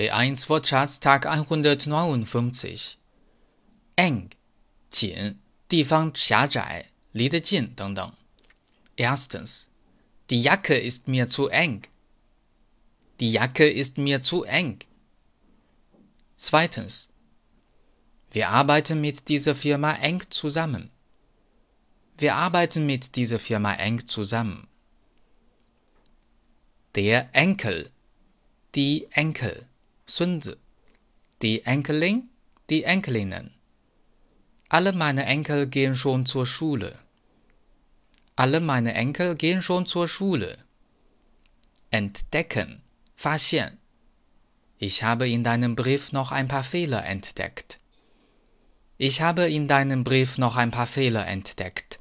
B1 Wortschatz Tag 159 eng 紧，地方狭窄，离得近等等。Erstens Die Jacke ist mir zu eng. Die Jacke ist mir zu eng. Zweitens Wir arbeiten mit dieser Firma eng zusammen. Wir arbeiten mit dieser Firma eng zusammen. Der Enkel, die Enkel, 孙子 die Enkelin, die Enkelinnen. Alle meine Enkel gehen schon zur Schule. Alle meine Enkel gehen schon zur Schule. Entdecken, 发现 Ich habe in deinem Brief noch ein paar Fehler entdeckt. Ich habe in deinem Brief noch ein paar Fehler entdeckt.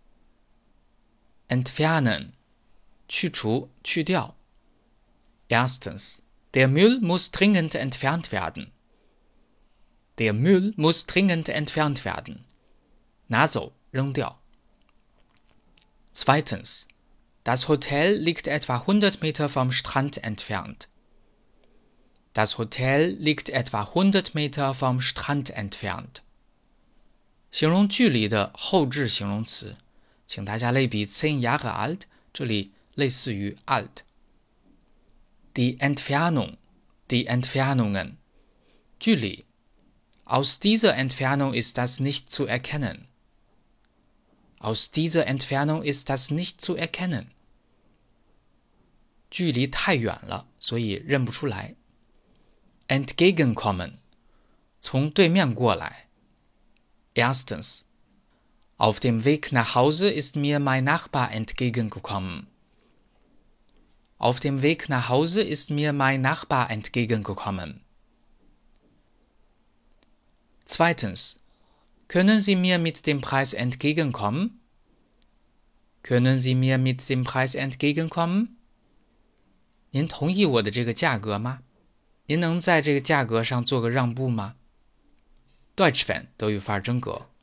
Entfernen, 去除，去掉。Erstens Der Müll muss dringend entfernt werden. Der Müll muss dringend entfernt werden. 拿走，扔掉。Zweitens Das Hotel liegt etwa 100 Meter vom Strand entfernt. Das Hotel liegt etwa 100 Meter vom Strand entfernt. 形容距离的后置形容词，请大家类比 10 Jahre alt， 这里类似于 alt。Die Entfernung, die Entfernungen, 距离。Aus dieser Entfernung ist das nicht zu erkennen. Aus dieser Entfernung ist das nicht zu erkennen. 距离太远了，所以认不出来。Entgegenkommen, 从对面过来。Erstens Auf dem Weg nach Hause ist mir mein Nachbar entgegengekommen. Auf dem Weg nach Hause ist mir mein Nachbar entgegengekommen. Zweitens Können Sie mir mit dem Preis entgegenkommen? Können Sie mir mit dem Preis entgegenkommen? 您同意我的这个价格吗？您能在这个价格上做个让步吗？ Deutsch Fan 德语范儿真格。